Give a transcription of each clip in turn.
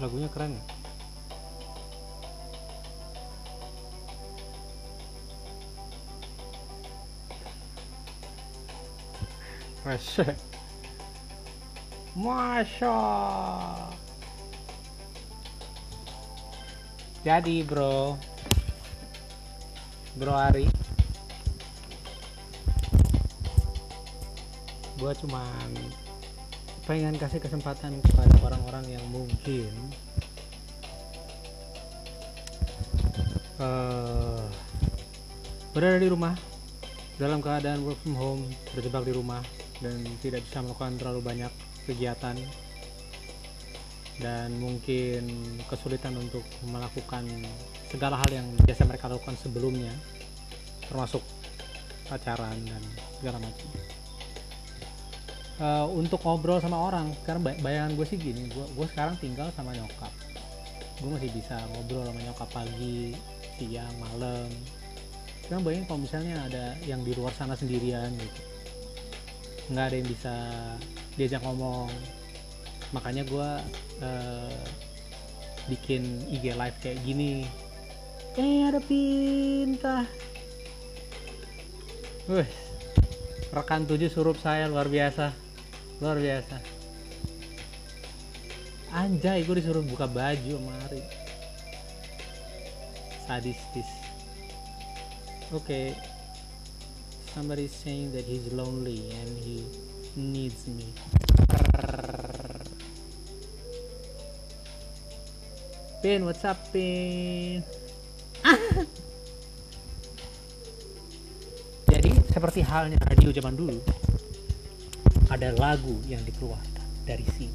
Lagunya keren ya. Masya. Masya. Jadi bro Ari, gue cuman pengen kasih kesempatan kepada orang-orang yang mungkin berada di rumah dalam keadaan work from home, terjebak di rumah dan tidak bisa melakukan terlalu banyak kegiatan, dan mungkin kesulitan untuk melakukan segala hal yang biasa mereka lakukan sebelumnya, termasuk pacaran dan segala macam. Untuk ngobrol sama orang, karena bayangan gue sih gini, gue sekarang tinggal sama nyokap, gue masih bisa ngobrol sama nyokap pagi, siang, malam. Sekarang bayangin kalau misalnya ada yang di luar sana sendirian gitu, nggak ada yang bisa diajak ngomong. Makanya gue bikin IG live kayak gini. Ada Pinta. Rekan 7 surup saya luar biasa. Anjay, gue disuruh buka baju sama Ari. Sadistis. Okay. Somebody saying that he's lonely and he needs me. Pin, what's up, Pin? Jadi seperti halnya radio zaman dulu, ada lagu yang dikeluarkan dari sini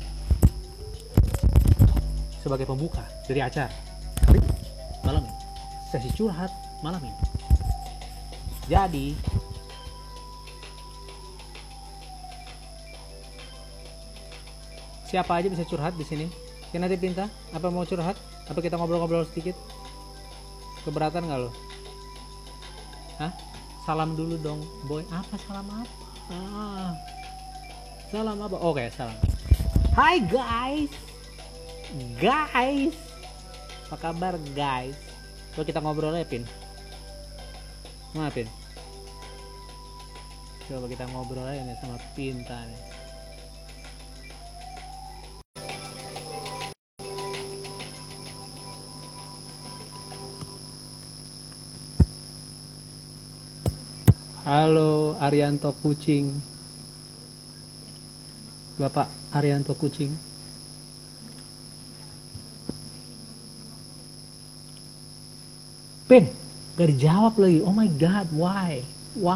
sebagai pembuka dari acara malam ini, sesi curhat malam ini. Jadi siapa aja bisa curhat di sini. Nanti Pinta, apa mau curhat? Apa kita ngobrol-ngobrol sedikit? Keberatan nggak lo? Hah? Salam dulu dong, boy. Apa salam apa? Salam apa? Oke, salam. Hai guys. Apa kabar guys? Coba kita ngobrol ya, Pin. Mana Pin? Coba kita ngobrol aja nih sama Pinta nih. Halo Arianto Kucing. Bapak Arianto Kucing. Pin, gak dijawab lagi. Oh my god, why?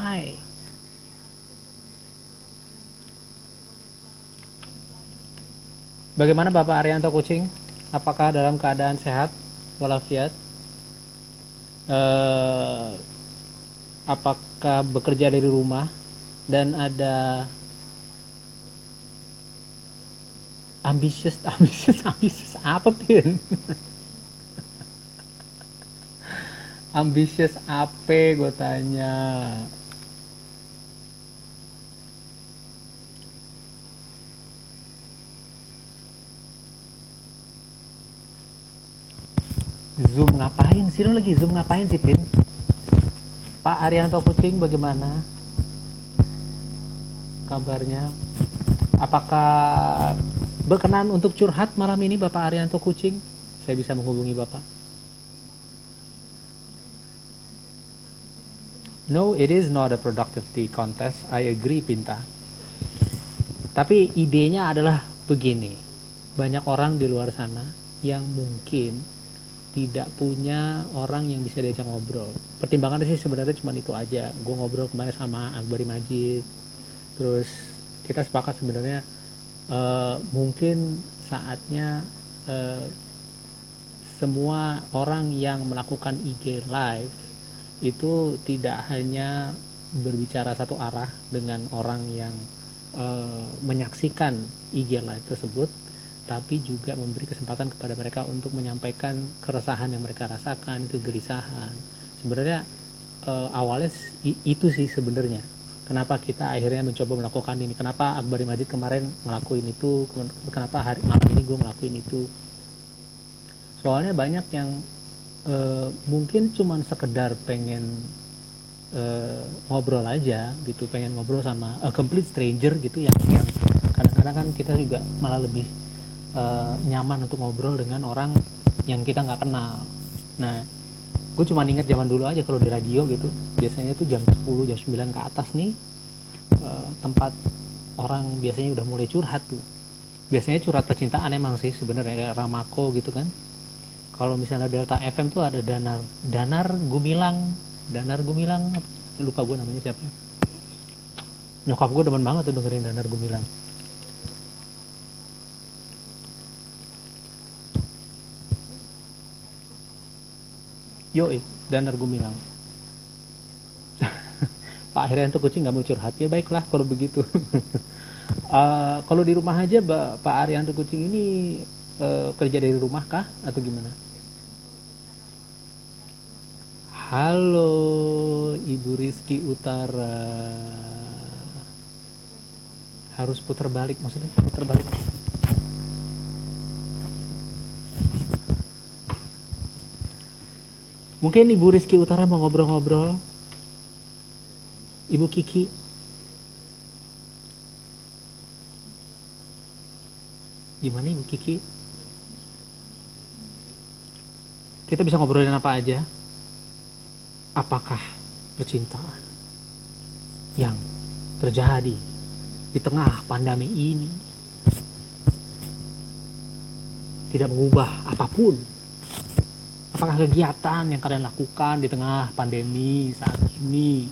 Bagaimana Bapak Arianto Kucing? Apakah dalam keadaan sehat walafiat? Apakah bekerja dari rumah dan ada ambisius apa, Pin? Ambisius apa gue tanya? Zoom ngapain sih? Lo lagi Zoom ngapain sih, Pin? Pak Arianto Kucing, bagaimana kabarnya? Apakah berkenan untuk curhat malam ini, Bapak Arianto Kucing? Saya bisa menghubungi Bapak. No, it is not a productivity contest. I agree, Pinta. Tapi idenya adalah begini. Banyak orang di luar sana yang mungkin tidak punya orang yang bisa diajak ngobrol. Pertimbangannya sih sebenarnya cuma itu aja. Gue ngobrol kemarin sama Akbari Majid, terus kita sepakat sebenarnya mungkin saatnya semua orang yang melakukan IG live itu tidak hanya berbicara satu arah dengan orang yang menyaksikan IG live tersebut, tapi juga memberi kesempatan kepada mereka untuk menyampaikan keresahan yang mereka rasakan, kegelisahan. Sebenarnya awalnya itu sih sebenarnya. Kenapa kita akhirnya mencoba melakukan ini? Kenapa Akbari Majid kemarin ngelakuin itu? Kenapa hari malam ini gue ngelakuin itu? Soalnya banyak yang mungkin cuman sekedar pengen ngobrol aja gitu, pengen ngobrol sama a complete stranger gitu, yang kadang-kadang kan kita juga malah lebih nyaman untuk ngobrol dengan orang yang kita nggak kenal. Nah, gue cuma inget zaman dulu aja kalau di radio gitu, biasanya tuh jam 10 jam 9 ke atas nih, tempat orang biasanya udah mulai curhat tuh. Biasanya curhat percintaan emang sih sebenarnya, kayak Ramako gitu kan. Kalau misalnya Delta FM tuh ada Danar Gumilang, lupa gue namanya siapa. Nyokap gue demen banget tuh dengerin Danar Gumilang. Yoi, Danar Gumilang. Pak Herianto Kucing nggak mau curhat, ya baiklah kalau begitu. Kalau di rumah aja Pak Arianto Kucing ini kerja dari rumah kah atau gimana? Halo Ibu Rizky Utara. Harus putar balik, maksudnya putar balik. Mungkin Ibu Rizky Utara mau ngobrol-ngobrol. Ibu Kiki. Gimana Ibu Kiki? Kita bisa ngobrolin apa aja? Apakah percintaan yang terjadi di tengah pandemi ini tidak mengubah apapun? Apakah kegiatan yang kalian lakukan di tengah pandemi saat ini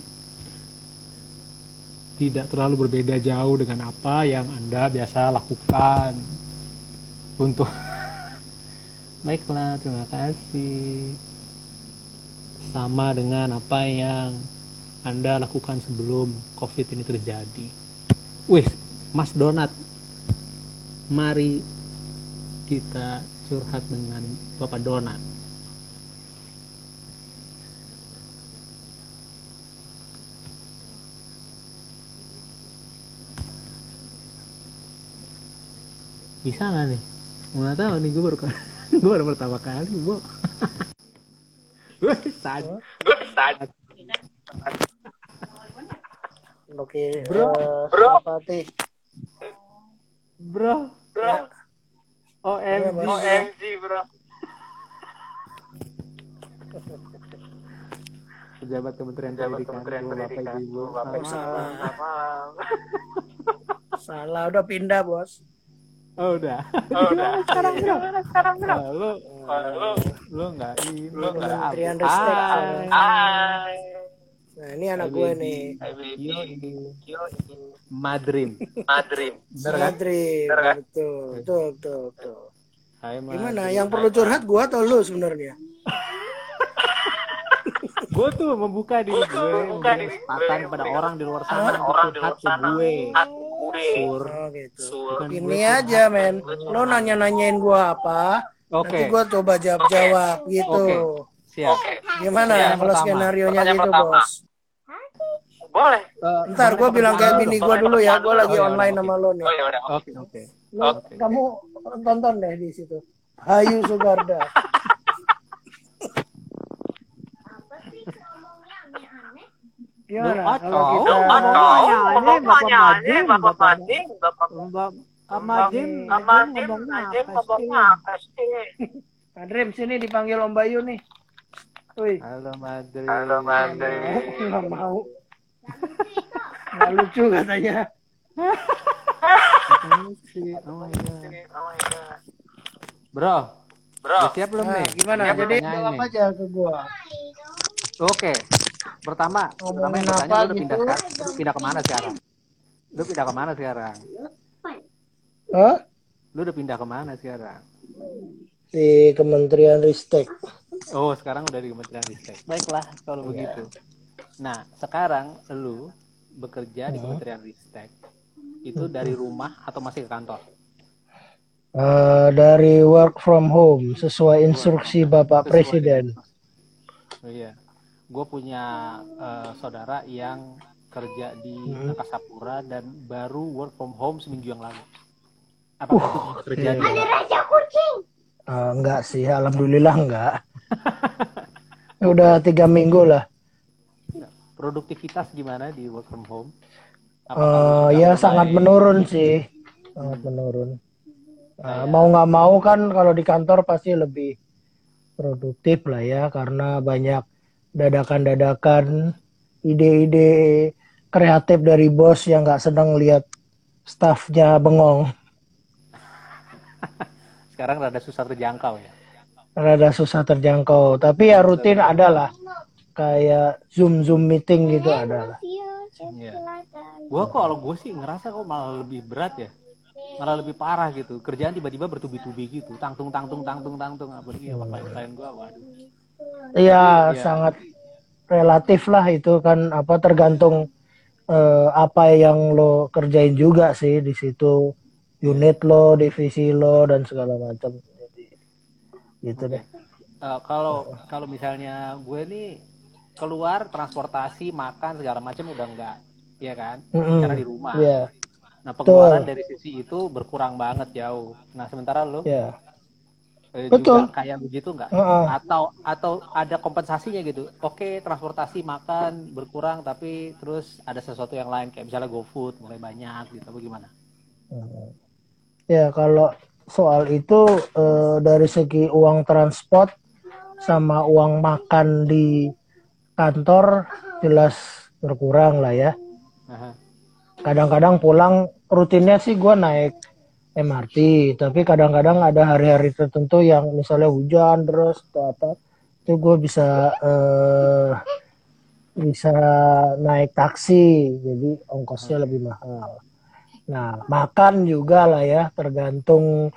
tidak terlalu berbeda jauh dengan apa yang Anda biasa lakukan untuk baiklah, terima kasih. Sama dengan apa yang Anda lakukan sebelum COVID ini terjadi. Wih, Mas Donat, mari kita curhat dengan Bapak Donat. Bisa nggak nih? Nggak tahu nih, gue baru pertama kali, Bu. Gue sad. Oke, Bro. Pati. Bro. Ya. OMG, bro. Pejabat Kementerian Pendidikan, Bapak Ibu. Salah, udah pindah, Bos. Oh, udah. Sekarang, bro. Lu nggak ini, lu nggak Kementerian apa. Ristek. Hai. Nah, ini anak gue nih. Madrim. Madrid. Betul. Hai, Gimana? Yang perlu curhat gue atau lu sebenarnya? Gue tuh membuka diri gue, kesempatan pada orang di luar sana untuk curhat ke gue. Sur. Oh gitu. Bukan Ini gue aja, men. Lo nanya-nanyain gue apa? Nanti gue coba jawab gitu. Siap. Gimana kalau skenario-nya gitu, Bos? Boleh. Ntar gue bilang kayak bini gue dulu ya. Gue lagi online sama lo nih. Oke. Kamu tonton deh di situ. Hayu Sugarda. Gimana kalau kita Bapak Madrim ngomongnya apa sih? Madrim sini dipanggil Om Bayu nih. Wih. Halo Madrim. Nggak mau. Nggak lucu katanya. Bro. Udah siap belum nih? Gimana? Jadi jawab aja ke gua. Oke. Pertama yang bertanya, lu pindah kemana sekarang? Lu pindah kemana sekarang? Hah? Lu udah pindah kemana sekarang? Di Kementerian Ristek. Oh, sekarang udah di Kementerian Ristek. Baiklah kalau begitu. Nah, sekarang lu bekerja di Kementerian Ristek. Itu dari rumah atau masih ke kantor? Dari work from home sesuai instruksi Bapak Presiden. Oh iya. Gue punya saudara yang kerja di Angkasa Pura dan baru work from home seminggu yang lalu. Apa itu terjadi? Enggak sih, alhamdulillah enggak. Udah 3 minggu lah. Produktivitas gimana di work from home? Apakah lu sudah Ya mulai sangat menurun sih, sangat menurun. Mau nggak mau kan kalau di kantor pasti lebih produktif lah ya, karena banyak dadakan-dadakan, ide-ide kreatif dari bos yang nggak sedang lihat staffnya bengong. sekarang rada susah terjangkau ya? Rada susah terjangkau, tapi ya rutin ada lah, kayak Zoom meeting gitu ada lah. Iya. Kalau gue sih ngerasa kok malah lebih berat ya, malah lebih parah gitu. Kerjaan tiba-tiba bertubi-tubi gitu, tangtung. Apalagi sama klien gue, waduh. Iya, Ya, sangat relatif lah itu kan, apa tergantung apa yang lo kerjain juga sih di situ, unit lo, divisi lo dan segala macam. Jadi gitu deh. Kalau misalnya gue nih keluar transportasi, makan segala macam udah enggak, ya kan? Karena di rumah. Yeah. Nah, pengeluaran dari sisi itu berkurang banget jauh. Nah, sementara lo Yeah. juga Betul. kayak begitu nggak? Uh-uh. Atau ada kompensasinya gitu? Oke, transportasi, makan berkurang, tapi terus ada sesuatu yang lain kayak misalnya GoFood mulai banyak gitu, bagaimana? Ya kalau soal itu dari segi uang transport sama uang makan di kantor jelas berkurang lah ya. Aha. Kadang-kadang pulang rutinnya sih gue naik MRT, tapi kadang-kadang ada hari-hari tertentu yang misalnya hujan terus atau apa, itu gue bisa naik taksi, jadi ongkosnya lebih mahal. Nah, makan juga lah ya, tergantung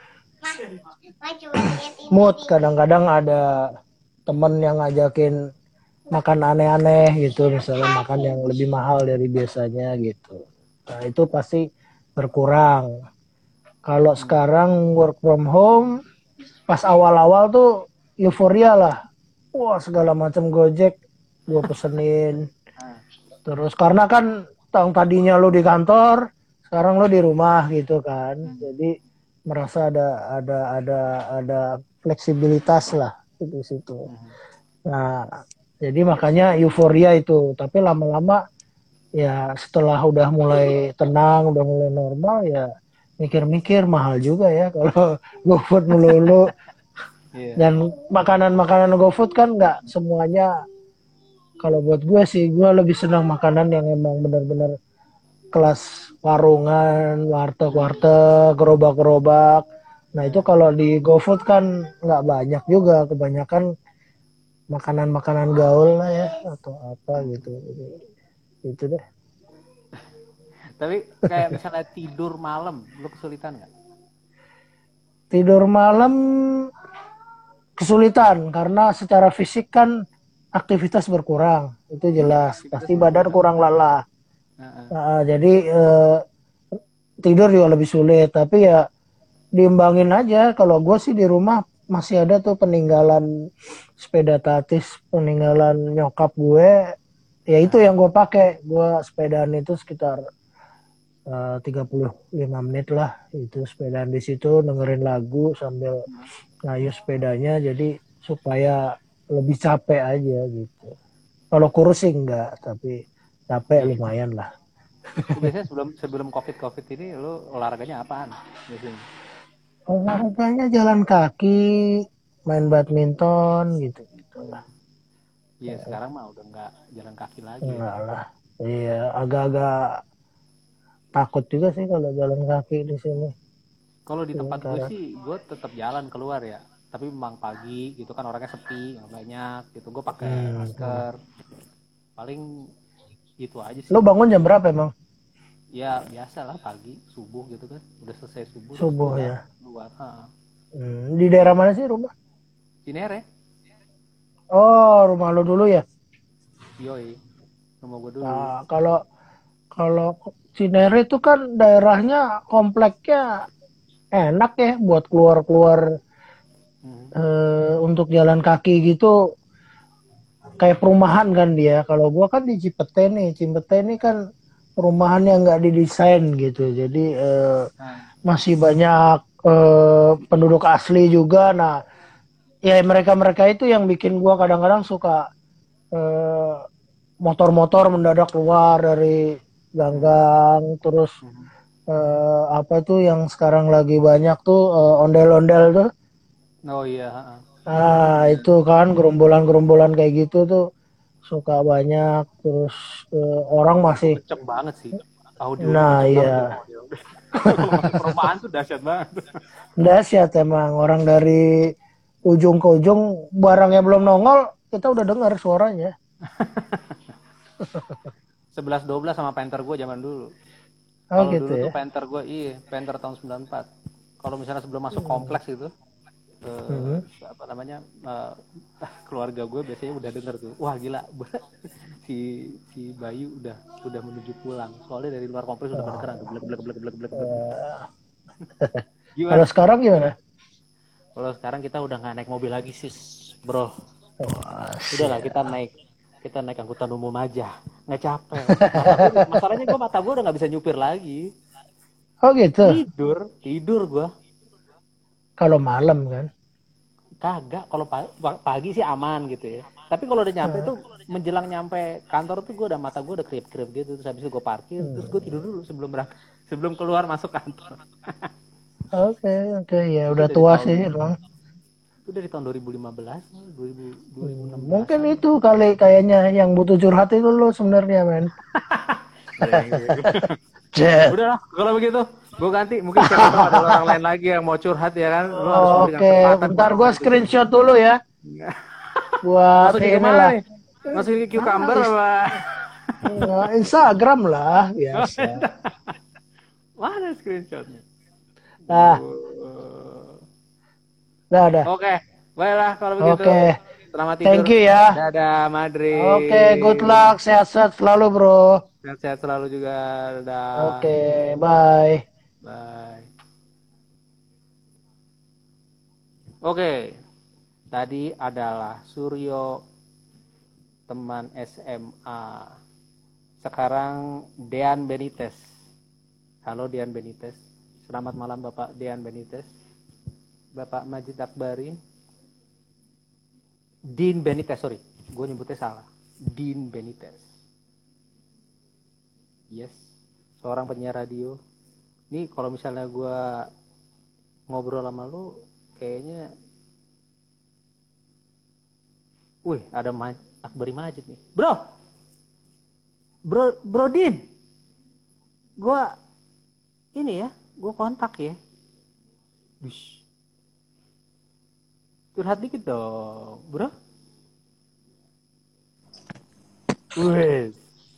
mood. Kadang-kadang ada temen yang ngajakin makan aneh-aneh gitu, misalnya makan yang lebih mahal dari biasanya gitu. Nah, itu pasti berkurang. Kalau sekarang work from home, pas awal-awal tuh euforia lah. Wah, segala macam Gojek gue pesenin. Terus karena kan tadinya lo di kantor, sekarang lo di rumah gitu kan. Jadi merasa ada fleksibilitas lah di situ. Nah, jadi makanya euforia itu. Tapi lama-lama ya setelah udah mulai tenang, udah mulai normal ya mikir-mikir mahal juga ya kalau GoFood melulu. Dan makanan-makanan GoFood kan nggak semuanya. Kalau buat gue sih, gue lebih senang makanan yang emang benar-benar kelas warungan, warteg-warteg, gerobak-gerobak. Nah itu kalau di GoFood kan nggak banyak juga, kebanyakan makanan-makanan gaul lah ya atau apa gitu. Jadi, gitu deh. Tapi kayak misalnya tidur malam, lu kesulitan nggak? Tidur malam kesulitan karena secara fisik kan aktivitas berkurang, itu jelas. Pasti badan kurang lelah. Jadi tidur juga lebih sulit. Tapi ya diimbangin aja. Kalau gue sih di rumah masih ada tuh peninggalan sepeda tatis, peninggalan nyokap gue. Ya itu yang gue pakai. Gue sepedaan itu sekitar 35 menit lah. Itu sepedaan di situ dengerin lagu sambil ngayuh sepedanya. Jadi supaya lebih capek aja gitu. Kalau kurus sih enggak, tapi capek lumayan lah. Biasanya sebelum COVID ini lu olahraganya apaan biasanya? Olahraganya jalan kaki, main badminton gitu lah. Iya, sekarang mah udah nggak jalan kaki lagi. Enggak lah. Iya, agak-agak takut juga sih kalau jalan kaki di sini. Kalau di tempat gue sih, gue tetap jalan keluar ya. Tapi memang pagi gitu kan orangnya sepi, nggak banyak gitu. Gue pakai masker. Paling itu aja sih. Lo bangun jam berapa emang? Ya biasa lah pagi, subuh gitu kan. Udah selesai subuh. Subuh ya. Keluar. Di daerah mana sih rumah? Cinere. Oh, rumah lo dulu ya? Yoi, rumah gue dulu. Nah, kalau Cinere itu kan daerahnya kompleknya enak ya buat keluar-keluar untuk jalan kaki gitu, kayak perumahan kan dia. Kalau gua kan di Cipete nih kan perumahan yang nggak didesain gitu, jadi masih banyak penduduk asli juga. Nah, ya mereka-mereka itu yang bikin gua kadang-kadang suka eh, motor-motor mendadak keluar dari ganggang, terus apa tuh yang sekarang lagi banyak tuh ondel-ondel tuh. Oh iya, heeh. Nah, itu kan gerombolan-gerombolan kayak gitu tuh suka banyak, terus orang Itu masih, kenceng banget sih. Audionya nah kenceng banget tuh ya, model. Kalau masuk perumahan tuh dahsyat banget. dahsyat emang orang dari ujung ke ujung barangnya belum nongol kita udah dengar suaranya. 11-12 sama Panther gue zaman dulu. Oh Kalau gitu dulu tuh ya. Panther gue, iya, Panther tahun 94. Kalau misalnya sebelum masuk kompleks itu, eh, Hmm. apa namanya, keluarga gue biasanya udah denger tuh, wah gila, si si Bayu udah menuju pulang. Soalnya dari luar kompleks udah pada keran tuh, blek blek blek blek blek blek. Kalau Gimana? sekarang gimana? Kalau sekarang kita udah nggak naik mobil lagi sih, bro. Wah, Udahlah siap. kita naik angkutan umum aja, nggak capek. Masalahnya mata gue udah nggak bisa nyupir lagi. Oh gitu. Tidur gue. Kalau malam kan. Kagak, kalau pagi sih aman gitu ya. Tapi kalau udah nyampe tuh, menjelang nyampe kantor tuh mata gue udah kriep-kriep gitu. Terus habis itu gue parkir, terus gue tidur dulu sebelum keluar masuk kantor. Oke, oke, ya itu udah dari tua tahun sih emang. itu dari tahun 2015, 2016 Mungkin an. itu kali kayaknya yang butuh curhat itu lo sebenarnya, men. Jet. Udahlah, kalau begitu gue ganti. Mungkin siapa tahu ada orang lain lagi yang mau curhat ya kan. Lo harus memberikan Oke, kesempatan bentar buat gue orang itu curhat. screenshot dulu ya. Buat Masukin ke mana inilah. nih? Masukin ke cucumber Is- apa? Instagram lah, biasa. Mana screenshotnya? Nah, udah. Oke, baiklah kalau begitu. Oke, Selamat tidur. thank you ya. Dadah, Madri. Oke, good luck, sehat-sehat selalu, bro. Sehat-sehat selalu juga. Dadah. Oke, bye. Bye. Oke, tadi adalah Suryo, teman SMA. Sekarang Dean Benitez. Halo Dean Benitez. Selamat malam Bapak Dean Benitez. Bapak Majid Akbari. Dean Benitez, sorry. Gue nyebutnya salah. Dean Benitez. Yes. Seorang penyiar radio. Nih kalau misalnya gue ngobrol sama lu, kayaknya... Wih, ada Akbari Majid nih. Bro Dean. Gue... Ini ya, gue kontak ya. Wish. Curhat dikit dong, bro. Wes.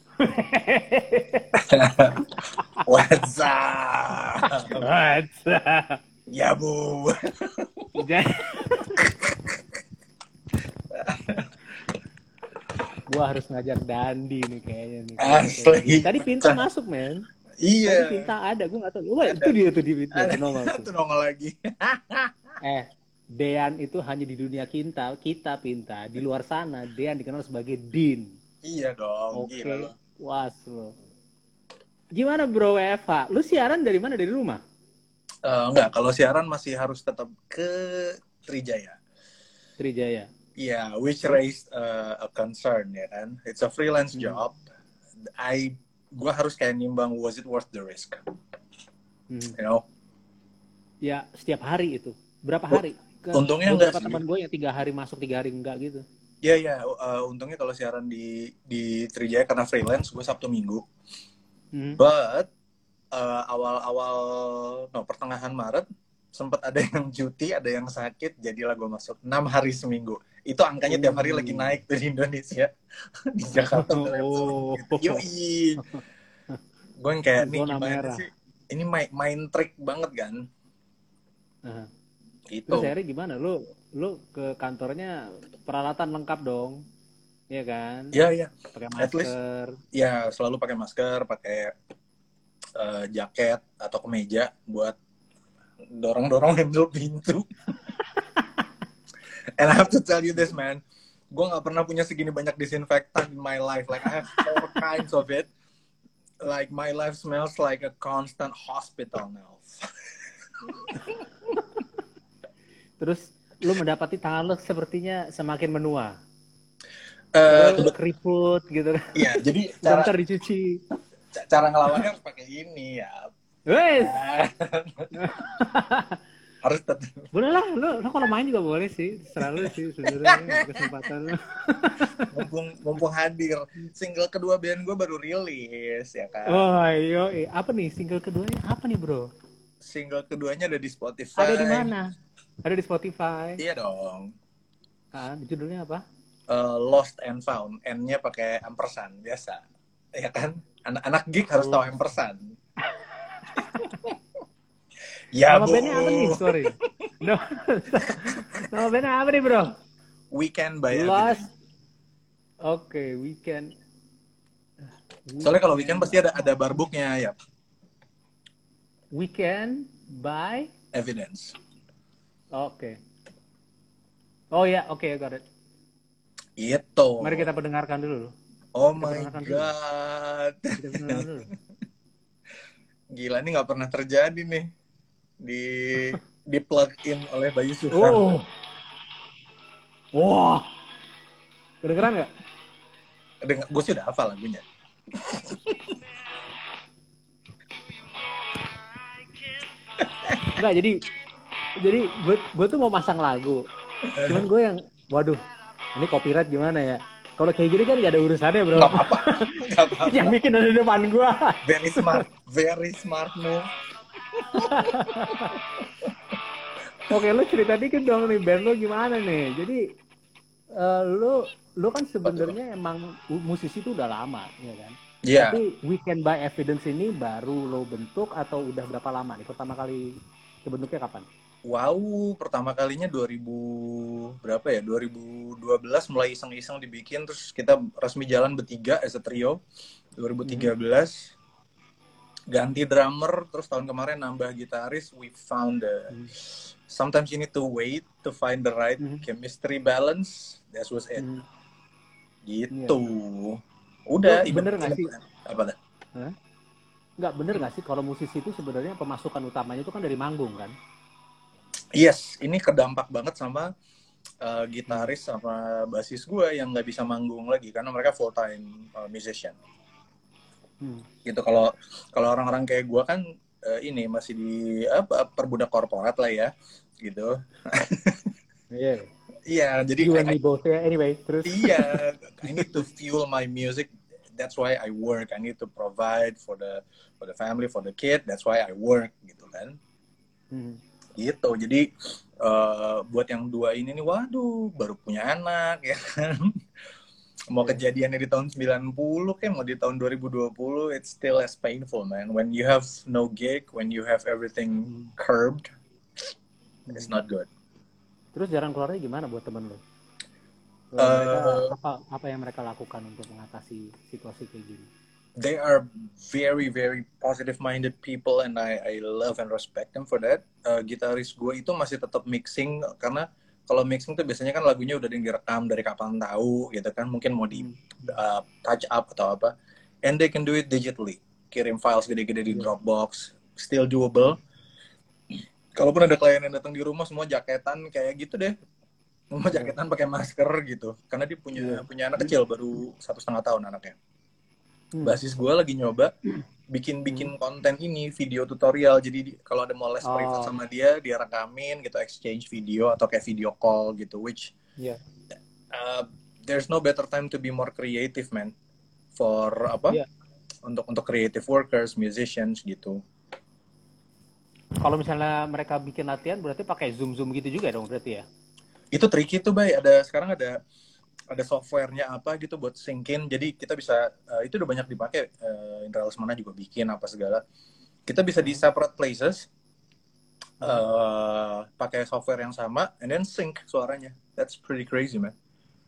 What's up? What's up? Ya bu. Gue harus ngajak Dandi nih kayaknya nih. Asli. Tadi Pinta masuk, men. Iya. Tadi Pinta ada, gue nggak tahu. Wah, itu dia tuh di nongol tuh. Itu nongol lagi. Dean itu hanya di dunia kita Pinta. Di luar sana, Dean dikenal sebagai Dean. Iya dong. Oke, Gila. was lo. Gimana bro WFH? Lu siaran dari mana? Dari rumah? Enggak, kalau siaran masih harus tetap ke Trijaya. Trijaya. Iya, which raised a concern ya kan. It's a freelance job. Gue harus kayak nimbang, was it worth the risk? You know? Ya setiap hari itu. Berapa hari? Untungnya enggak beberapa sih. teman gue yang 3 hari masuk 3 hari enggak gitu. Iya. Untungnya kalau siaran di Trijaya karena freelance, gue Sabtu Minggu. But pertengahan Maret sempat ada yang cuti, ada yang sakit, jadilah gue masuk 6 hari seminggu. Itu angkanya tiap hari lagi naik tuh di Indonesia. Di Jakarta gitu. Yoi. Gue yang kayak nih gimana sih? Ini main trik banget kan? Gitu. Terus akhirnya gimana? Lu ke kantornya peralatan lengkap dong. Iya kan? Iya. Pakai masker. Ya, selalu pakai masker, pakai jaket atau kemeja buat dorong-dorong handle pintu. And I have to tell you this, man. Gue gak pernah punya segini banyak disinfektan in my life. Like, I have 4 kinds of it. Like, my life smells like a constant hospital now. Terus lu mendapati tangan lu sepertinya semakin menua. Eh, Keriput gitu. Iya, jadi Bentar dicuci. cara ngelawannya harus pakai ini ya. Wes. Harus tetap. Boleh lah, lu kalau main juga boleh sih. Terserah lu sih sebenarnya kesempatan lu. mumpung hadir. Single kedua band gue baru rilis ya kan. Oh, iya. Apa nih single keduanya? Apa nih, Bro? Single keduanya ada di Spotify. Ada di mana? Ada di Spotify. Iya dong. Judulnya apa? Lost and Found. N-nya pakai ampersand biasa. Ya kan? Anak geek harus tahu ampersand. Ya, Nama bandnya apa nih? Sorry. No. Nama bandnya apa nih, Bro? Weekend by Lost. Evidence. Oke, Weekend. Soalnya kalau Weekend pasti ada barbuknya ya. Weekend by Evidence. Oke. Oh ya, oke, got it. Itu. Mari kita pendengarkan dulu. Oh Kita my pendengarkan god. Kita pendengarkan dulu. Gila, ini nggak pernah terjadi nih di plug in oleh Bayu Susan. Oh. Wah. Kedengeran nggak? Gue sih udah hafal lagunya. Enggak, jadi gue tuh mau masang lagu. Cuman gue yang, waduh, ini copyright gimana ya? Kalau kayak gini kan gak ada urusannya, Bro. Gak apa-apa. Yang bikin ada di depan gue. Very smart move. Oke, lu cerita dikit dong nih, band lu gimana nih? Jadi lu kan sebenarnya emang musisi itu udah lama, ya kan? Iya. Yeah. Tapi Weekend by Evidence ini baru lo bentuk atau udah berapa lama nih? Pertama kali kebentuknya kapan? Wow, pertama kalinya 2012 mulai iseng-iseng dibikin, terus kita resmi jalan bertiga as a trio. 2013 ganti drummer, terus tahun kemarin nambah gitaris. We found sometimes you need to wait to find the right chemistry balance. That was it. Gitu. Udah. Bener nggak sih? Apa dah? Nggak bener nggak sih kalau musisi itu sebenarnya pemasukan utamanya itu kan dari manggung kan? Yes, ini kedampak banget sama gitaris sama basis gue yang nggak bisa manggung lagi karena mereka full time musician. Gitu. Kalau orang-orang kayak gue kan ini masih di perbudak korporat lah ya, gitu. Iya. Iya, jadi you and me both ya. Anyway, terus. Iya, I need to fuel my music. That's why I work. I need to provide for the family, for the kid. That's why I work, gitu kan. Gitu. Jadi buat yang dua ini nih, waduh, baru punya anak ya kan. Mau kejadiannya di tahun 90 kayak mau di tahun 2020, it's still as painful, man. When you have no gig, when you have everything curbed, it's not good. Terus jalan keluarnya gimana buat temen lo? Mereka, apa yang mereka lakukan untuk mengatasi situasi kayak gini? They are very, very positive-minded people and I love and respect them for that. Gitaris gue itu masih tetap mixing karena kalau mixing tuh biasanya kan lagunya udah direkam dari kapan tahu gitu kan, mungkin mau di touch up atau apa, and they can do it digitally, kirim files gede-gede di Dropbox, still doable. Kalaupun ada klien yang datang di rumah semua jaketan kayak gitu deh, semua jaketan pakai masker gitu, karena dia punya anak kecil baru 1,5 tahun anaknya. Basis gue lagi nyoba bikin konten ini, video tutorial. Jadi kalau ada mau les privat sama dia rekamin gitu, exchange video atau kayak video call gitu, which there's no better time to be more creative, man, for untuk creative workers, musicians gitu. Kalau misalnya mereka bikin latihan berarti pakai Zoom gitu juga dong berarti ya? Itu tricky tuh, Bay. Sekarang ada softwarenya apa gitu buat syncin, jadi kita bisa itu udah banyak dipakai, Indra Lesmana juga bikin apa segala, kita bisa di separate places pakai software yang sama and then sync suaranya. That's pretty crazy, man.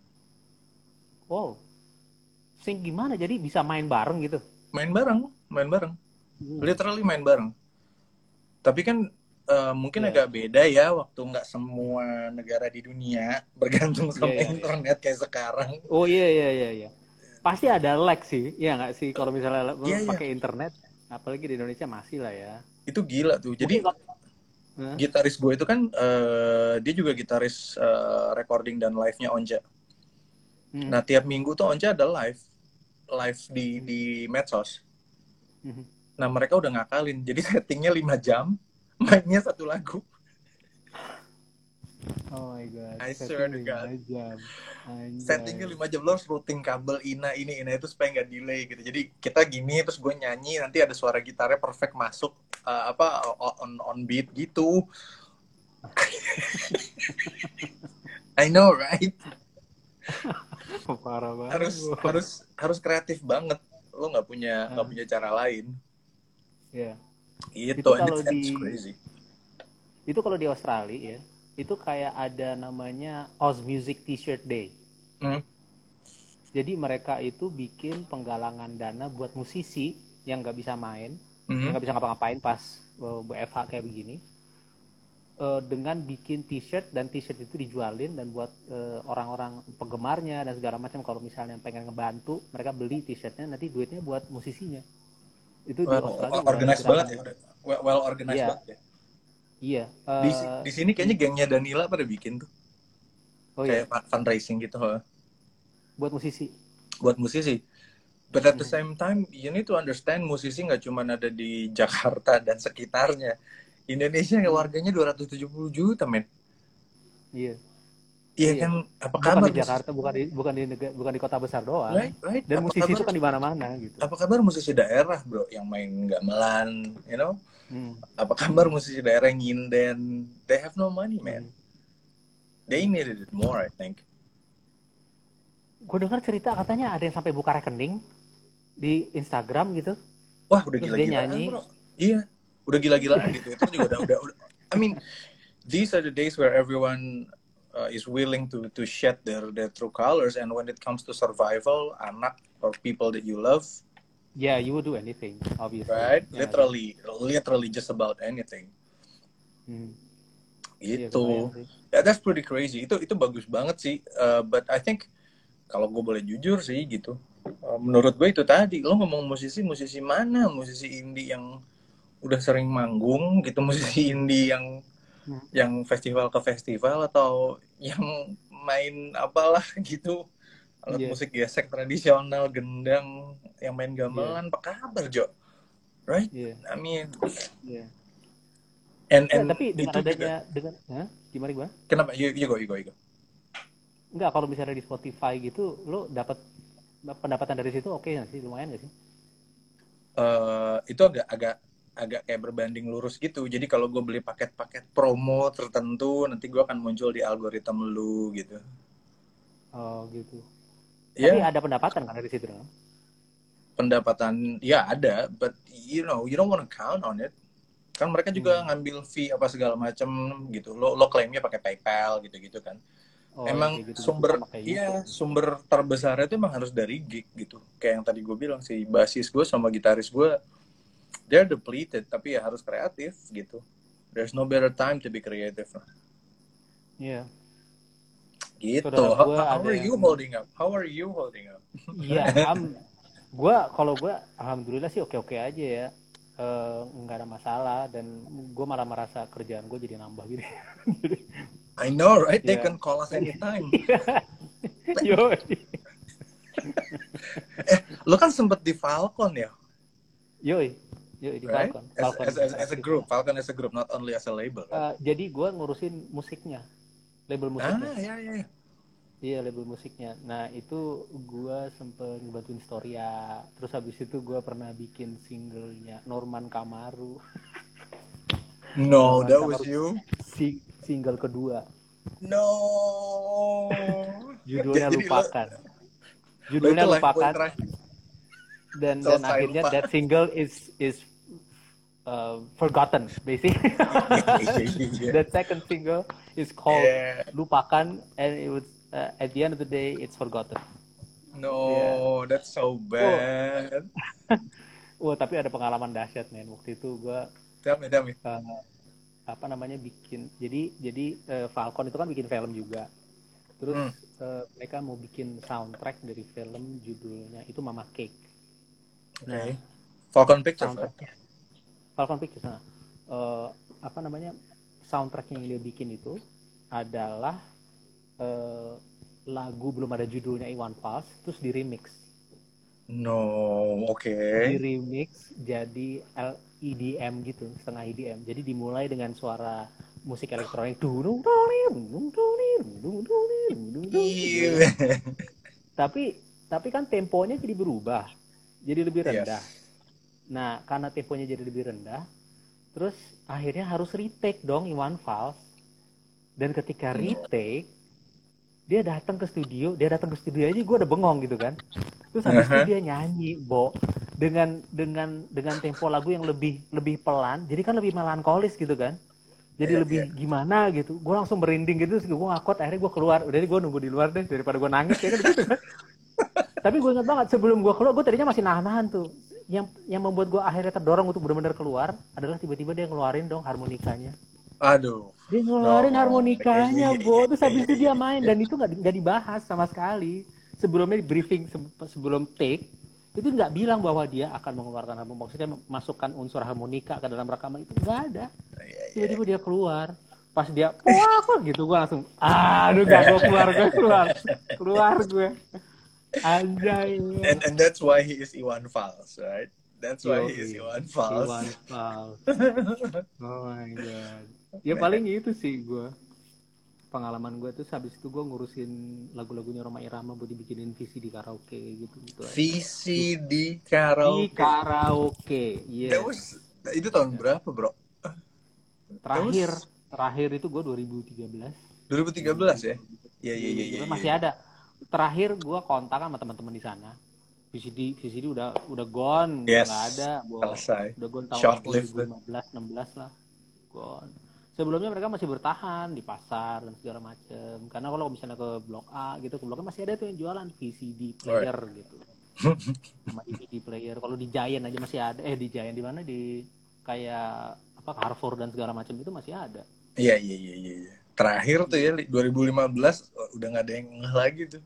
Wow, sync gimana? Jadi bisa main bareng gitu? Main bareng literally main bareng, tapi kan mungkin agak beda ya, waktu nggak semua negara di dunia bergantung sama internet kayak sekarang. Oh iya. Pasti ada lag sih, ya nggak sih kalau misalnya pakai internet, apalagi di Indonesia masih lah ya. Itu gila tuh. Jadi Hah? Gitaris gue itu kan dia juga gitaris recording dan live-nya Onja. Nah, tiap minggu tuh Onja ada live di medsos. Nah, mereka udah ngakalin. Jadi settingnya 5 jam, mainnya satu lagu. Oh my god, I swear setting to God. 5 jam. Settingnya Anjay. 5 jam, lo harus routing kabel ini itu supaya nggak delay gitu. Jadi kita gini, terus gue nyanyi, nanti ada suara gitarnya perfect masuk on beat gitu. I know, right? Parah banget. harus kreatif banget. Lo nggak punya cara lain. Ya. Gitu, Itu and kalau it's crazy. Itu kalau di Australia ya, itu kayak ada namanya Oz Music T-shirt Day. Jadi mereka itu bikin penggalangan dana buat musisi yang nggak bisa main, yang nggak bisa ngapa-ngapain pas WFH kayak begini, dengan bikin T-shirt, dan T-shirt itu dijualin dan buat orang-orang penggemarnya dan segala macam. Kalau misalnya pengen ngebantu, mereka beli T-shirtnya, nanti duitnya buat musisinya. Itu di Australia udah ada Organized gerakan. banget ya, well organized Iya. banget ya. Iya. Di sini kayaknya gengnya Danila pada bikin tuh. Oh kayak iya. fundraising gitu. Buat musisi. Buat musisi. But at the same time, you need to understand musisi nggak cuma ada di Jakarta dan sekitarnya. Indonesia warganya 270 juta, men. Iya. Iya kan, apa Bukan kabar di Jakarta, bukan di kota besar doang. Right. Dan Apa musisi kabar, itu kan di mana-mana gitu. apa kabar musisi daerah, bro, yang main gamelan, you know? Apa kabar musisi daerah yang nyinden? They have no money, man. They needed it more, I think. Gue dengar cerita katanya ada yang sampai buka rekening di Instagram gitu. Wah, udah Terus gila-gilaan, dia nyanyi. bro. Iya, udah gila-gilaan gitu. Itu juga udah. I mean, these are the days where everyone is willing to shed their true colors, and when it comes to survival, anak or people that you love, yeah, you would do anything, obviously. Right? Literally just about anything. Gitu. Yeah, that's pretty crazy. Itu bagus banget sih. But I think kalau gue boleh jujur sih gitu. Menurut gue itu tadi, lo ngomong musisi mana? Musisi indie yang udah sering manggung gitu, musisi indie yang festival ke festival, atau yang main apalah gitu, alat musik gesek tradisional, gendang, yang main gamelan, apa kabar, Jo? Right? I mean, and tapi dengan adanya gimana? Kenapa? You go. Enggak, kalau misalnya di Spotify gitu, lo dapat pendapatan dari situ oke nggak sih? Lumayan nggak sih? Itu agak kayak berbanding lurus gitu. Jadi kalau gue beli paket-paket promo tertentu, nanti gue akan muncul di algoritma lu gitu. Oh gitu. Tapi ada pendapatan kan dari situ? Pendapatan ya ada, but you don't want to count on it. Kan mereka juga ngambil fee apa segala macam gitu. Lo klaimnya pakai PayPal gitu kan. Emang gitu, sumber terbesarnya itu emang harus dari gig gitu. Kayak yang tadi gue bilang sih, basis gue sama gitaris gue, they're depleted, tapi ya harus kreatif gitu. There's no better time to be creative. Iya. Gitu. How are you holding up? Iya, kalau gue alhamdulillah sih oke aja ya. Nggak ada masalah, dan gue malah merasa kerjaan gue jadi nambah gitu. I know, right? They can call us anytime. Yo. Lo kan sempet di Falcon ya? Yoi di right? Falcon. As a group, Falcon as a group, not only as a label. Right? Jadi gue ngurusin musiknya, label musiknya. Iya, label musiknya. Nah itu gue sempet ngebantuin Storia. Terus habis itu gue pernah bikin singlenya Norman Kamaru. No, that was you. Single kedua. No. Judulnya Lupakan. Dan akhirnya that single is forgotten basically. That second single is called Lupakan, and it was at the end of the day it's forgotten. No, that's so bad. Tapi ada pengalaman dahsyat, men. Waktu itu gue bikin, jadi Falcon itu kan bikin film juga. Terus mereka mau bikin soundtrack dari film, judulnya itu Mama Cake. Falcon Pictures. Falcon Pictures. soundtrack yang dia bikin itu adalah lagu belum ada judulnya Iwan Fals, terus di remix. No, oke. Di remix jadi EDM gitu, setengah EDM. Jadi dimulai dengan suara musik elektronik. Iya. Tapi kan temponya jadi berubah, jadi lebih rendah. Yes. Nah, karena temponya jadi lebih rendah, terus akhirnya harus retake dong Iwan Fals. Dan ketika retake, dia datang ke studio aja gue udah bengong gitu kan. Terus habis itu dia nyanyi, dengan tempo lagu yang lebih pelan, jadi kan lebih melankolis gitu kan. Jadi lebih gimana gitu. Gue langsung merinding gitu, terus gue ngakot, akhirnya gue keluar. Udah gue nunggu di luar deh daripada gue nangis ya kan gitu kan. Tapi gue ingat banget sebelum gue keluar, gue tadinya masih nahan tuh. Yang membuat gue akhirnya terdorong untuk benar-benar keluar adalah tiba-tiba dia ngeluarin dong harmonikanya. Aduh. Dia ngeluarin harmonikanya, terus habis itu dia main, dan itu nggak dibahas sama sekali. Sebelumnya di briefing sebelum take itu nggak bilang bahwa dia akan mengeluarkan harmonika, maksudnya masukkan unsur harmonika ke dalam rekaman, itu nggak ada. Tiba-tiba dia keluar, pas dia wah gitu, gue langsung aduh gak, gue keluar gue anjay. And that's why he is Iwan Fals, right? That's why he is Iwan Fals. Oh my god. Ya paling itu sih gue. Pengalaman gue tuh habis itu gue ngurusin lagu-lagunya Rhoma Irama buat dibikinin VCD karaoke gitu. VCD karaoke. Di karaoke. Iya. Yeah. Itu tahun berapa, bro? Terakhir itu gue 2013. 2013 ya? Iya. Masih ada. Terakhir gue kontak sama teman-teman di sana. VCD udah gone, yes. Nggak ada. Selesai. Udah gone tahun 2015-16 lah. Gone. Sebelumnya mereka masih bertahan di pasar dan segala macam. Karena kalau misalnya ke Blok A gitu, ke Blok A masih ada tuh yang jualan VCD player gitu. Sama DVD player. Kalau di Giant aja masih ada. Di Giant di mana, di kayak apa Carrefour dan segala macam itu masih ada. Iya. Terakhir tuh ya 2015 udah nggak ada yang ngeh lagi tuh.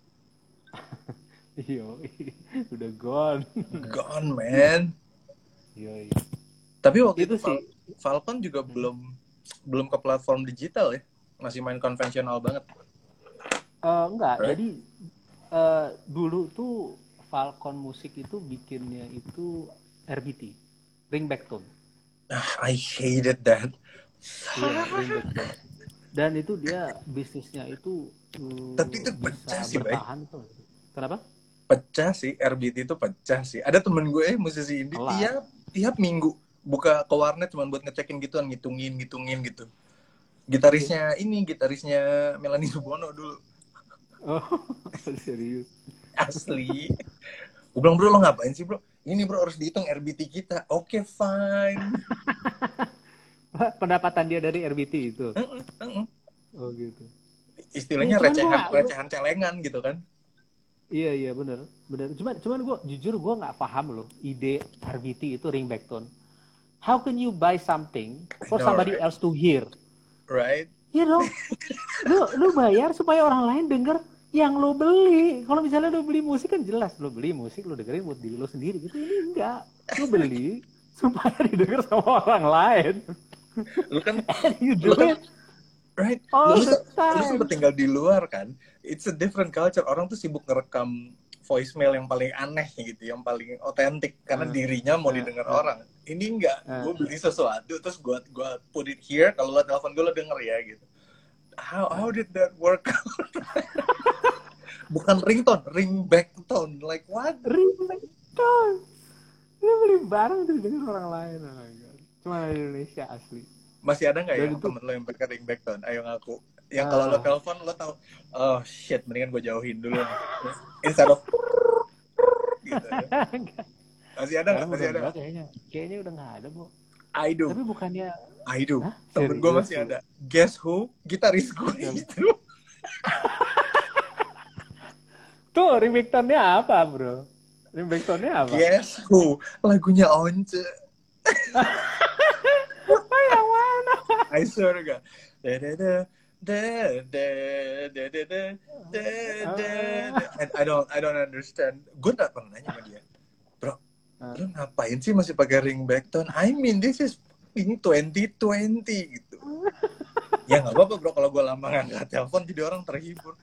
Iya, udah gone. Gone, man. Iya. Tapi waktu itu itu sih Falcon juga belum ke platform digital ya, masih main konvensional banget. Enggak, right? Jadi dulu tuh Falcon Musik itu bikinnya itu RBT, Ringback Tone. I hated that. Iya, Ringback Tone. Dan itu dia bisnisnya itu tapi itu pecah sih, bertahan tuh. Kenapa? Pecah sih, RBT itu pecah sih. Ada temen gue musisi indie tiap minggu buka ke warnet cuma buat ngecekin gituan, ngitungin gitu. Gitarisnya Melanie Subono dulu. Oh, serius? Asli. Gue bilang, bro, lo ngapain sih, bro? Ini, bro, harus dihitung RBT kita. Oke, fine. Pendapatan dia dari RBT itu? Oh gitu. Istilahnya recehan celengan gitu kan? Iya benar. Cuman gue jujur gue nggak paham loh ide RBT itu ringback tone. How can you buy something for somebody else to hear? Right? You know, lu bayar supaya orang lain denger yang lo beli. Kalau misalnya lo beli musik kan jelas lo beli musik lo dengerin buat diri lo sendiri gitu. Ini enggak, lo beli supaya didengar sama orang lain. Lu kan you do it. Right? All lu the time. Lu sempat tinggal di luar kan? It's a different culture. Orang tuh sibuk ngerekam voicemail yang paling aneh gitu, yang paling otentik karena dirinya mau didengar orang. Ini enggak, gue beli sesuatu terus gue put it here, kalau lo telepon gue lo denger ya gitu. How did that work? Bukan ringtone, ringback tone. Like what? Ringback tone. Lu beli barang terus denger orang lain. Oh my God. Cuma di Indonesia asli. Masih ada nggak yang temen lo yang pakai ringback tone? Ayo ngaku. Yang kalau lo telepon lo tahu, oh shit, mendingan gue jauhin dulu nih. Instead of gitu. Masih ada nggak? Masih ada. Kayaknya udah nggak ada, Bu. I do. Tapi bukannya I do. Temen gue masih ada. Guess who? Gitaris gue itu. Tuh, ringback tone-nya apa, Bro? Ringback tone-nya apa? Guess who? Lagunya Once. Yang mana? I swear to God. I don't understand. Gue gak pernah nanya sama dia, bro, lu ngapain sih masih pakai ringback tone? I mean, this is 2020 gitu. Ya nggak apa-apa bro, kalau gue lama nggak telepon jadi orang terhibur.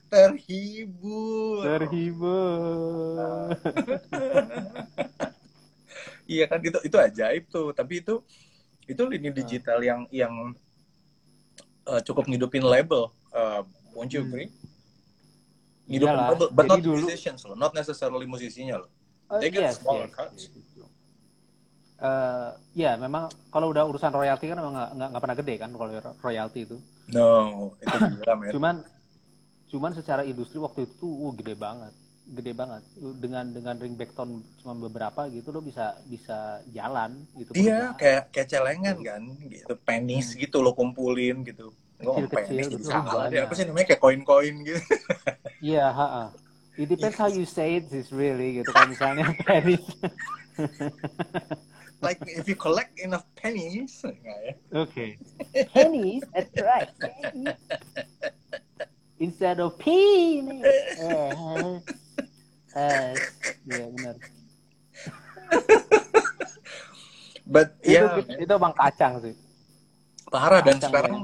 Iya kan, itu ajaib tuh. Tapi itu lini digital yang cukup ngidupin label. Won't you agree? Ngidupin Iyalah. label, but Jadi not dulu musicians loh, not necessarily musisinya loh. They get smaller cuts. Ya memang kalau udah urusan royalti kan memang nggak pernah gede kan kalau royalti itu. No, itu gila men. Cuman secara industri waktu itu gede banget dengan ringback tone cuma beberapa gitu lo bisa jalan gitu. Iya, kayak celengan kan gitu, pennies gitu lo kumpulin gitu. Nggak pennies jadi salah deh, apa sih namanya, kayak koin-koin gitu. Iya, it depends how you say it is really gitu. Kalau misalnya pennies Like if you collect enough pennies, ya? Okay. Pennies, that's right. Pennies. Instead of pennies. Iya benar. But itu Bang Kacang sih. Parah. Dan sekarang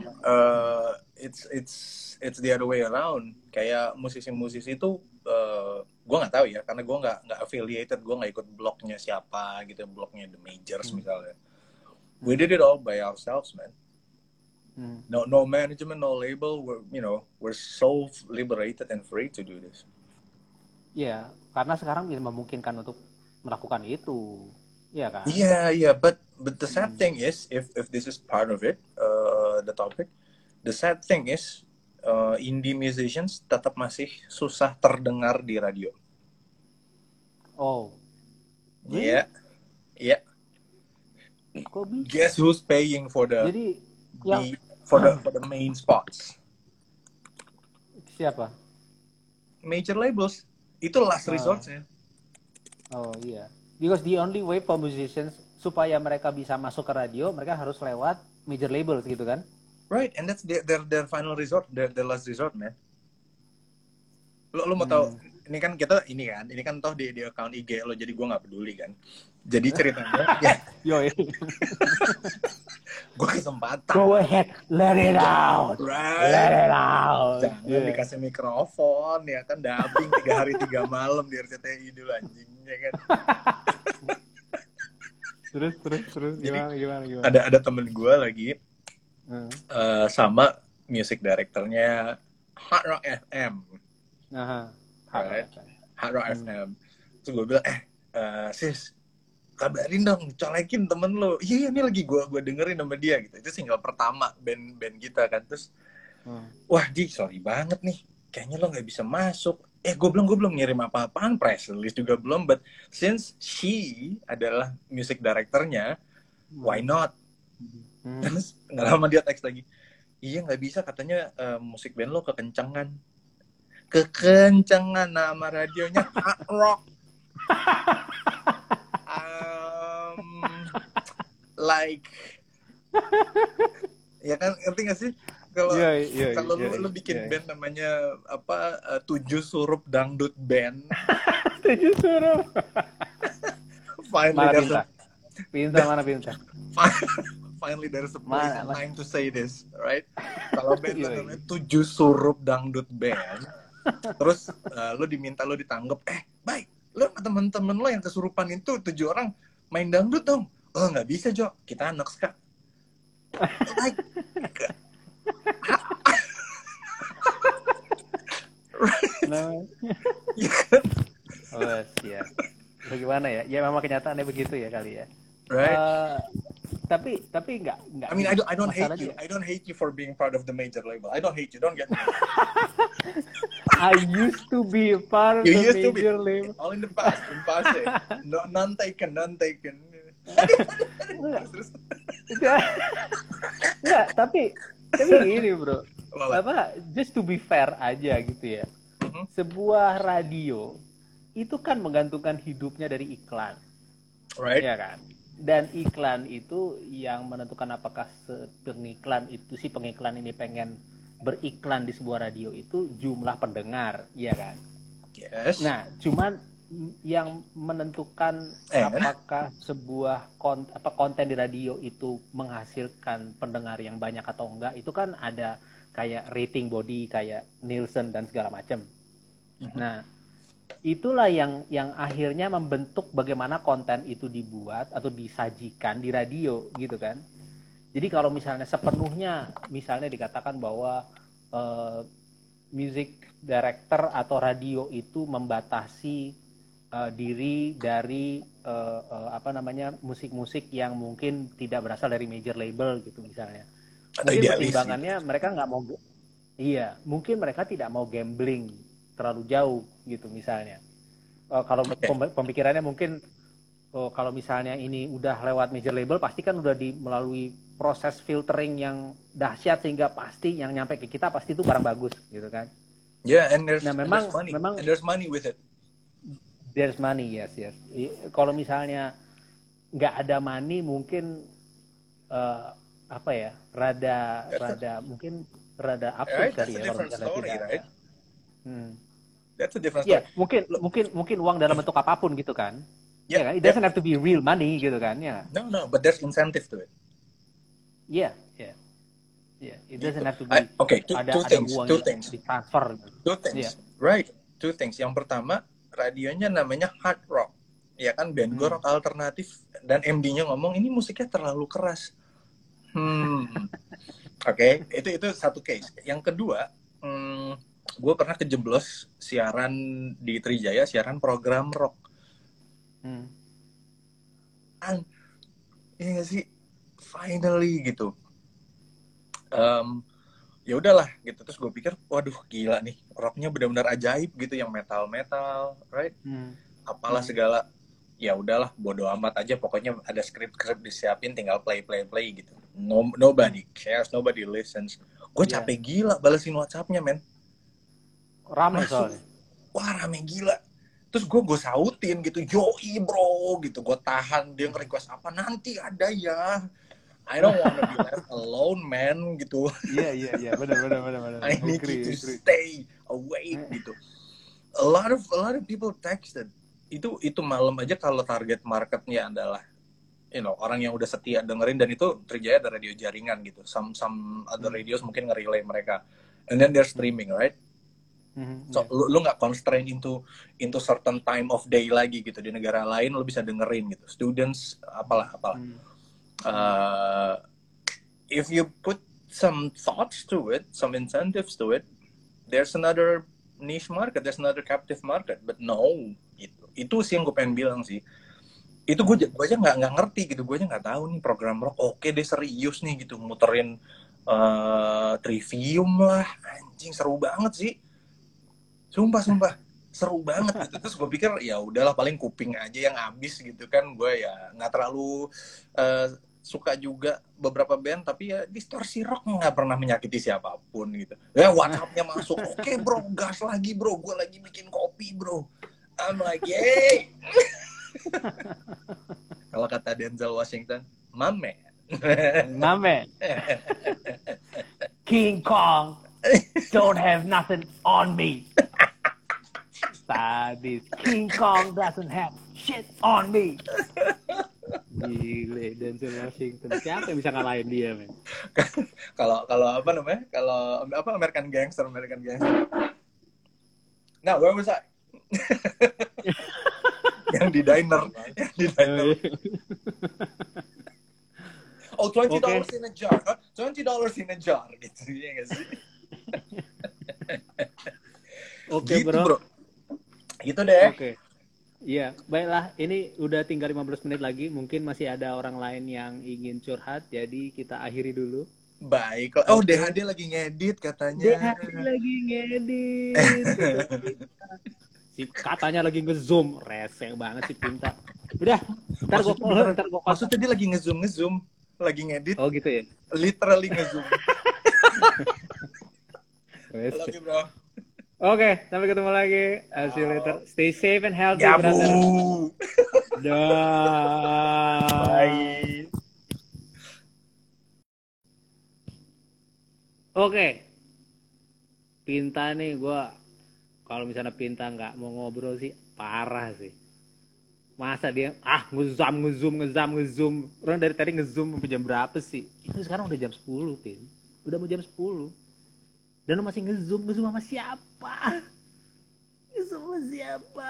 it's the other way around. Kayak musisi-musisi itu gue nggak tahu ya, karena gue nggak affiliated, gue nggak ikut blognya siapa gitu, blognya The Majors misalnya. We did it all by ourselves, man. No management, no label. We're so liberated and free to do this. Iya, karena sekarang bisa memungkinkan untuk melakukan itu, iya kan? Yeah, but the sad thing is, if this is part of it, the topic, the sad thing is, indie musicians tetap masih susah terdengar di radio. Oh. Iya. Yeah. Guess who's paying for the for the main spots? Siapa? Major labels. Itu last resortnya. Oh iya. Because the only way for musicians supaya mereka bisa masuk ke radio, mereka harus lewat major labels gitu kan? Right, and that's their final resort, their last resort, man. Lo mau tahu? Ini kan toh di account IG lo, jadi gue nggak peduli kan. Jadi ceritanya, gue kesempatan. Go ahead, let it out. Right. Let it out. Jangan dikasih mikrofon ya kan, dubbing 3 hari 3 malam di RCTI dulu anjingnya kan. Terus gimana? Ada temen gue lagi sama music directornya Hard Rock FM. Hard Rock FM. Terus gue bilang, sis, kabarin dong, colekin temen lo. Iya, ini lagi gue dengerin sama dia gitu. Itu single pertama band kita kan. Terus, wah Di, sorry banget nih, kayaknya lo nggak bisa masuk. Gue belum ngirim apa-apaan, press release juga belum. But since she adalah music directornya, why not? Terus nggak lama dia teks lagi, iya nggak bisa katanya, musik band lo kekencangan nama radionya Hard Rock. Like ya kan, ngerti nggak sih kalau lu bikin band namanya apa, 7 Surup Dangdut Band. 7 Surup. Pintar. Finally there's a place and time to say this, right? Kalau band namanya 7 Surup Dangdut Band, terus lo ditanggap, baik, lo sama temen-temen lo yang kesurupan itu 7 orang main dangdut dong. Oh nggak bisa Jo, kita anak ska. Like, siap. Bagaimana ya? Ya memang kenyataannya begitu ya kali ya. Right. Tapi enggak. I mean, I don't hate you. I don't hate you for being part of the major label. I don't hate you. Don't get me. I used to be a part of the major label. All in the past. No, none taken. Enggak, tapi gini bro. Just to be fair aja gitu ya. Sebuah radio itu kan menggantungkan hidupnya dari iklan. Right. Ya kan? Dan iklan itu yang menentukan apakah pengiklan ini pengen beriklan di sebuah radio itu jumlah pendengar, ya kan? Yes. Nah, cuman yang menentukan apakah sebuah konten di radio itu menghasilkan pendengar yang banyak atau enggak, itu kan ada kayak rating body kayak Nielsen dan segala macam. Nah, itulah yang akhirnya membentuk bagaimana konten itu dibuat atau disajikan di radio gitu kan. Jadi kalau misalnya sepenuhnya misalnya dikatakan bahwa music director atau radio itu membatasi diri dari musik-musik yang mungkin tidak berasal dari major label gitu misalnya. Mungkin pertimbangannya mereka nggak mau, mungkin mereka tidak mau gambling terlalu jauh gitu misalnya. Kalau pemikirannya mungkin kalau misalnya ini udah lewat major label pasti kan udah melalui proses filtering yang dahsyat sehingga pasti yang nyampe ke kita pasti itu barang bagus gitu kan. And there's money with it. There's money, yes. Kalau misalnya nggak ada money mungkin rada absurd kali ya kalau misalnya tidak ada. That's a different story. Mungkin uang dalam bentuk apapun gitu kan. It doesn't have to be real money gitu kan ya. No, but there's incentive to it. Yeah. It doesn't have to be. Two things. Ditransfer. Two things. Right. Two things. Yang pertama, radionya namanya hard rock. Ya kan, band gue rock alternatif dan MD-nya ngomong ini musiknya terlalu keras. Itu satu case. Yang kedua, gue pernah kejeblos siaran di Trijaya, siaran program rock. Iya gak sih? Finally gitu. Ya udahlah gitu, terus gue pikir waduh gila nih, rocknya benar-benar ajaib gitu, yang metal right, apalah segala, ya udahlah bodo amat aja, pokoknya ada skrip disiapin, tinggal play gitu. Nobody cares, nobody listens. Gue capek gila balesin WhatsAppnya men, rame soalnya. Wah rame gila, terus gue sautin gitu, yoi bro gitu, gue tahan, dia nge-request apa nanti ada ya. I don't want to be left alone, man, gitu. Iya, benar. I need you to stay awake, gitu. A lot of people texted. Itu malam aja kalau target marketnya adalah, orang yang udah setia dengerin, dan itu Trijaya ada radio jaringan gitu. Some other radios mungkin nge-relay mereka, and then they're streaming, right? So lu nggak constrain into certain time of day lagi gitu. Di negara lain lu bisa dengerin gitu. Students, apalah. If you put some thoughts to it, some incentives to it, there's another niche market, there's another captive market. But no, itu sih yang gue pengen bilang sih. Itu gue aja nggak ngerti gitu, gue aja nggak tahu nih program rock. Oke deh, serius nih gitu, muterin Trivium lah, anjing seru banget sih. Sumpah seru banget gitu. Terus gue pikir ya udahlah, paling kuping aja yang habis gitu kan. Gue ya nggak terlalu suka juga beberapa band, tapi ya distorsi rock nggak pernah menyakiti siapapun gitu. Ya WhatsApp-nya masuk, oke bro, gas lagi bro, gue lagi bikin kopi bro. I'm like, yay. Kalau kata Denzel Washington, my man. King Kong don't have nothing on me. Sadis. King Kong doesn't have shit on me. Gile, Denzel Washington. Siapa yang bisa ngalahin dia, men? Kalau apa namanya? Kalau American Gangster. Nah, where was I? Yang di diner. Oh, $20 in a jar. Huh? $20 in a jar gitu ya nggak sih? Oke, gitu, bro. Gitu deh. Oke. Iya, baiklah. Ini udah tinggal 15 menit lagi. Mungkin masih ada orang lain yang ingin curhat, jadi kita akhiri dulu. Baik. Oh, DHD lagi ngedit katanya. DHD lagi ngedit. Katanya lagi nge-zoom. Resek banget sih Pinta. Udah, ntar gue call. Maksudnya dia lagi nge-zoom. Lagi ngedit. Oh gitu ya? Literally nge-zoom. Love you, bro. Oke, sampai ketemu lagi. See you later. Stay safe and healthy, ya, brother. Dah. Bye. Oke. Pinta nih, gue Kalau misalnya Pinta nggak mau ngobrol sih parah sih. Masa dia ngezoom. Orang dari tadi ngezoom sampai jam berapa sih? Itu sekarang udah jam 10, Pin. Udah mau jam 10. Dan lo masih ngezoom sama siapa? Ngezoom sama siapa?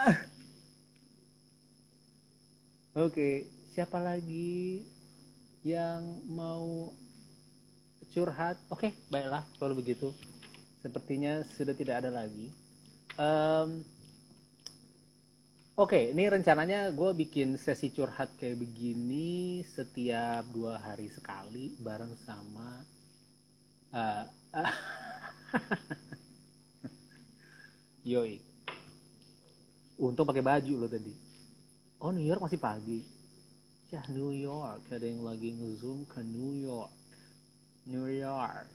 Oke, siapa lagi yang mau curhat? Oke, baiklah kalau begitu. Sepertinya sudah tidak ada lagi. Oke, ini rencananya gue bikin sesi curhat kayak begini setiap 2 hari sekali bareng sama Yoi. Untung pakai baju lo tadi. Oh, New York masih pagi. Ya, New York. Ada yang lagi nge-zoom ke New York. New York.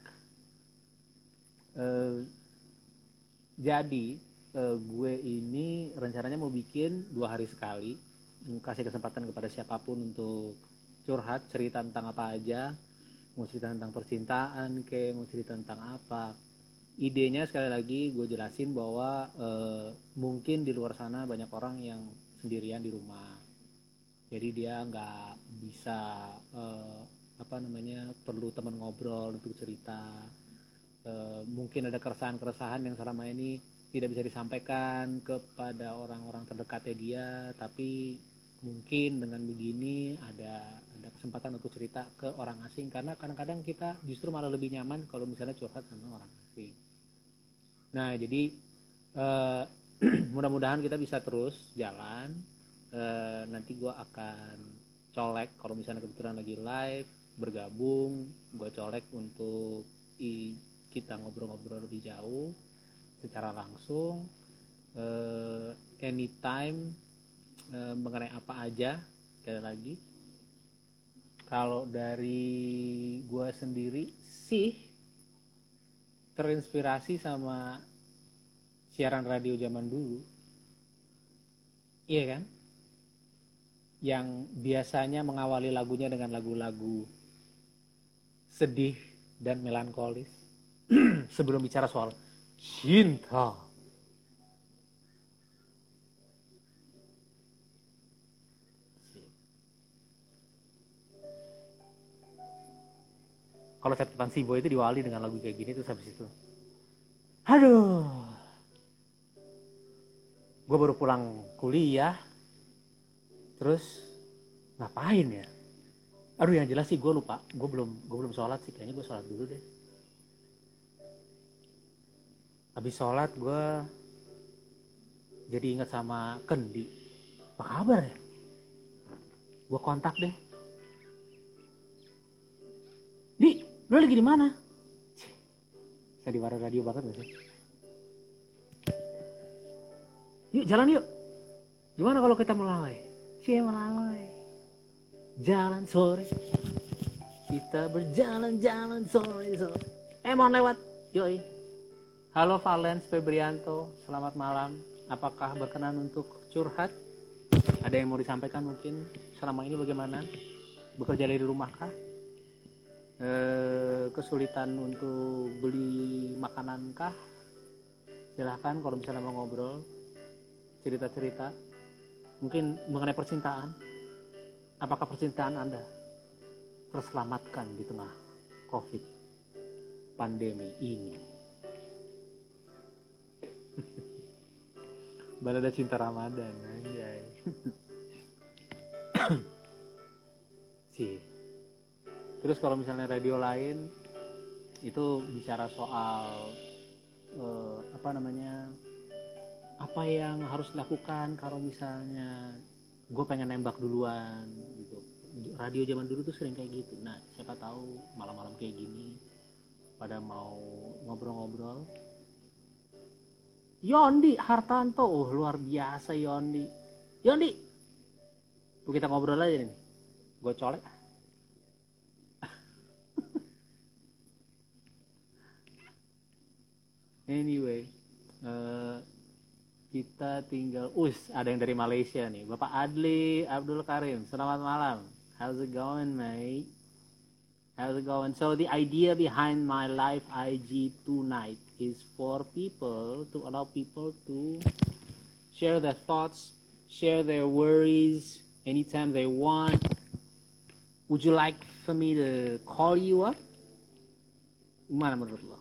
Jadi gue ini rencananya mau bikin 2 hari sekali, kasih kesempatan kepada siapapun untuk curhat, cerita tentang apa aja, mau cerita tentang percintaan mau cerita tentang apa. Idenya sekali lagi gue jelasin bahwa mungkin di luar sana banyak orang yang sendirian di rumah, jadi dia nggak bisa perlu teman ngobrol untuk cerita. Mungkin ada keresahan yang selama ini tidak bisa disampaikan kepada orang-orang terdekatnya dia, tapi mungkin dengan begini ada kesempatan untuk cerita ke orang asing, karena kadang-kadang kita justru malah lebih nyaman kalau misalnya curhat sama orang asing. Nah, jadi mudah-mudahan kita bisa terus jalan. Nanti gue akan colek kalau misalnya kebetulan lagi live bergabung, gue colek untuk kita ngobrol-ngobrol lebih jauh secara langsung, anytime, mengenai apa aja. Sekali lagi, kalau dari gue sendiri sih terinspirasi sama siaran radio zaman dulu, iya kan, yang biasanya mengawali lagunya dengan lagu-lagu sedih dan melankolis sebelum bicara soal cinta. Kalau catatan si Boy itu diwali dengan lagu kayak gini, terus habis itu, aduh, gue baru pulang kuliah, terus ngapain ya? Aduh, yang jelas sih gue lupa, gue belum sholat sih, kayaknya gue sholat dulu deh. Habis sholat gue jadi ingat sama Kendi. Apa kabar ya? Gue kontak deh. Di, lu lagi di mana? Saya di radio banget gak sih? Yuk jalan yuk. Gimana kalau kita melalui? Melalui. Jalan sore. Kita berjalan-jalan sore. Mau lewat. Yoi. Halo Valens Febrianto, selamat malam. Apakah berkenan untuk curhat? Ada yang mau disampaikan mungkin selama ini bagaimana? Bekerja dari rumah kah? Kesulitan untuk beli makanan kah? Silahkan kalau misalnya mau ngobrol, cerita-cerita. Mungkin mengenai percintaan. Apakah percintaan Anda terselamatkan di tengah COVID pandemi ini? Balada cinta Ramadan, anjay. Sih. Terus kalau misalnya radio lain itu bicara soal apa yang harus dilakukan kalau misalnya gue pengen nembak duluan gitu. Radio zaman dulu tuh sering kayak gitu. Nah, siapa tahu malam-malam kayak gini pada mau ngobrol-ngobrol. Yondi Hartanto, luar biasa Yondi. Kita ngobrol aja nih. Gue colek. Anyway, kita tinggal. Ada yang dari Malaysia nih, Bapak Adli Abdul Karim. Selamat malam. How's it going, mate? How's it going? So the idea behind my live IG tonight is for people to allow people to share their thoughts, share their worries anytime they want. Would you like for me to call you up? Gimana menurut lo?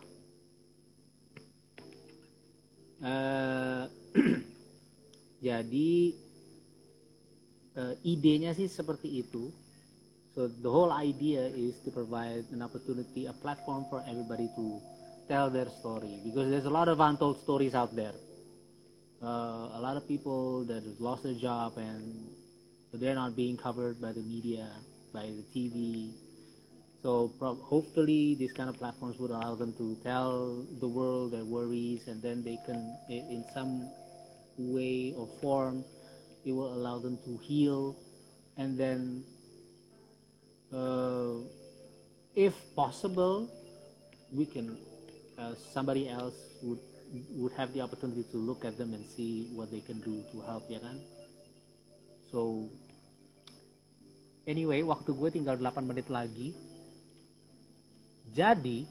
Jadi idenya sih seperti itu. So the whole idea is to provide an opportunity, a platform for everybody to tell their story, because there's a lot of untold stories out there. A lot of people that have lost their job and they're not being covered by the media, by the TV. So hopefully these kind of platforms would allow them to tell the world their worries, and then they can, in some way or form, it will allow them to heal, and then if possible, we can somebody else would have the opportunity to look at them and see what they can do to help, ya kan? So anyway, waktu gue tinggal 8 menit lagi. Jadi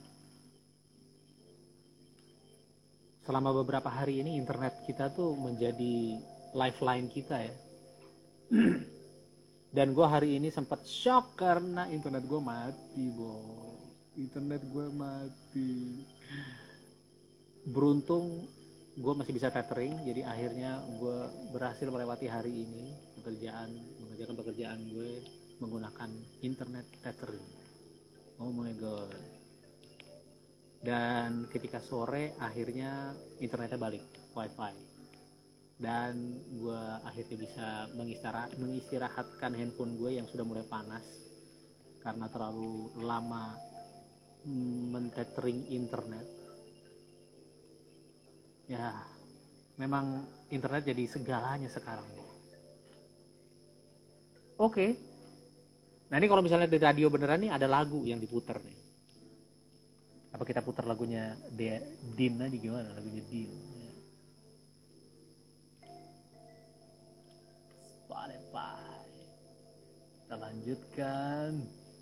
selama beberapa hari ini internet kita tuh menjadi lifeline kita ya. Dan gue hari ini sempat shock karena internet gue mati, internet gue mati. Beruntung gue masih bisa tethering, jadi akhirnya gue berhasil melewati hari ini mengerjakan pekerjaan gue menggunakan internet tethering. Oh my god. Dan ketika sore akhirnya internetnya balik, wifi. Dan gue akhirnya bisa mengistirahatkan handphone gue yang sudah mulai panas karena terlalu lama men-tethering internet. Ya, memang internet jadi segalanya sekarang. Oke. Nah ini kalau misalnya di radio beneran nih ada lagu yang diputer nih. Apa kita putar lagunya Din aja, gimana lagunya Din? Spotify. Kita lanjutkan.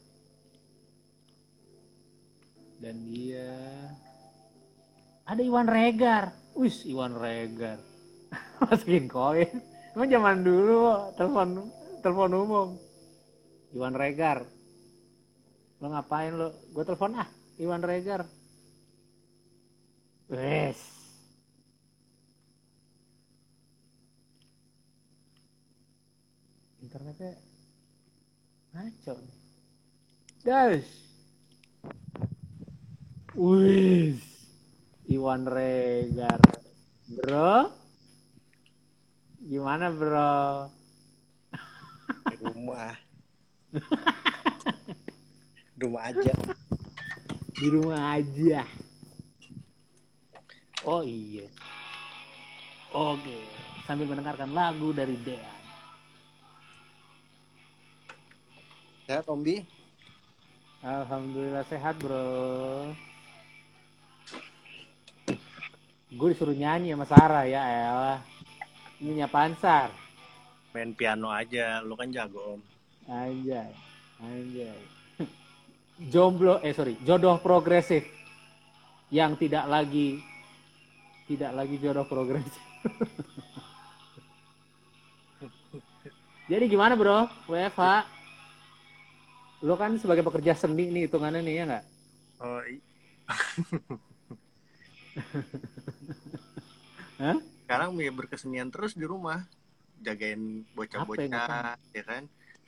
Dan dia ada Iwan Regar. Wis, Iwan Regar. Masukin koin. Emang zaman dulu telepon umum. Iwan Regar. Lo ngapain lo? Gue telepon Iwan Regar. Wes. Internetnya ngaco. Das. Wis. Iwan Regar. Bro. Gimana bro? Di rumah. Rumah aja. Di rumah aja. Oh iya. Oke. Sambil mendengarkan lagu dari Dean. Sehat Om Bi? Alhamdulillah sehat bro. Gue disuruh nyanyi sama Sarah ya elah. Ini apaan Sar? Main piano aja, lu kan jago Om. Anjay. Jodoh progresif yang tidak lagi jodoh progresif. Jadi gimana bro, WFH? Lo kan sebagai pekerja seni nih hitungannya nih ya nggak? Oh Hah? Sekarang ya berkesenian terus di rumah, jagain bocah-bocah, ya kan?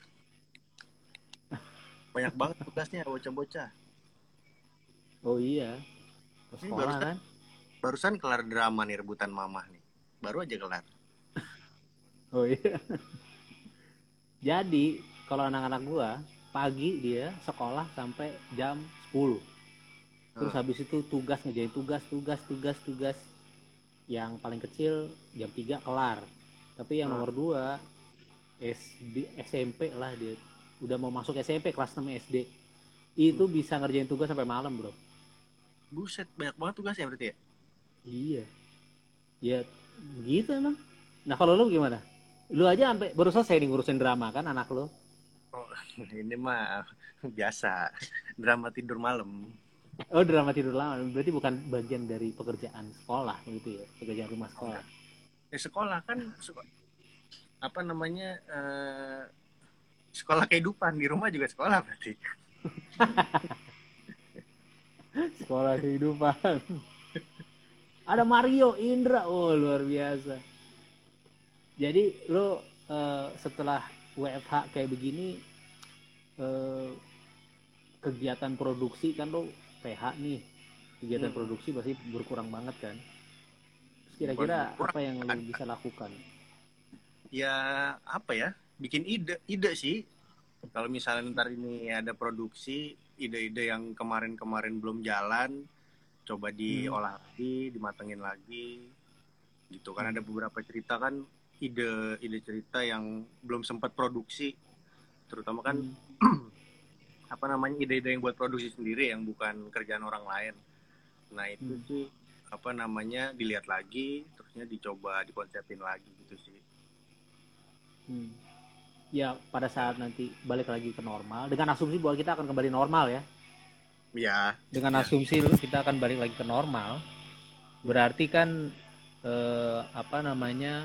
Banyak banget tugasnya bocah-bocah. Oh iya. Sekolah kan? Barusan kelar drama nih, rebutan mamah nih. Baru aja kelar. Oh iya. Jadi kalau anak-anak gua pagi dia sekolah sampai jam 10. Terus habis itu ngerjain tugas. Yang paling kecil jam 3 kelar. Tapi yang nomor 2 SMP lah dia. Udah mau masuk SMP kelas 6 SD. Itu bisa ngerjain tugas sampai malam, bro. Buset, banyak banget tugasnya berarti ya? Iya. Ya begitu emang. Nah, kalau lu gimana? Lu aja sampai baru selesai nih ngurusin drama kan anak lu. Oh, ini mah biasa. Drama tidur malam. Oh, drama tidur lama. Berarti bukan bagian dari pekerjaan sekolah begitu ya, pekerjaan rumah sekolah. Sekolah kan apa namanya sekolah kehidupan, di rumah juga sekolah berarti. Sekolah kehidupan. Ada Mario Indra, oh luar biasa. Jadi lo setelah WFH kayak begini, kegiatan produksi kan lo PH nih, kegiatan produksi pasti berkurang banget kan. Terus kira-kira apa yang lo bisa lakukan? Ya apa ya, bikin ide sih. Kalau misalnya ntar ini ada produksi, ide-ide yang kemarin-kemarin belum jalan, coba diolah lagi, dimatengin lagi, gitu kan. Ada beberapa cerita kan, ide cerita yang belum sempat produksi, terutama kan apa namanya ide-ide yang buat produksi sendiri yang bukan kerjaan orang lain. Nah itu sih apa namanya dilihat lagi, terusnya dicoba dikonsepin lagi gitu sih. Ya pada saat nanti balik lagi ke normal, dengan asumsi bahwa kita akan kembali normal ya. Ya. Dengan asumsi kita akan balik lagi ke normal, berarti kan apa namanya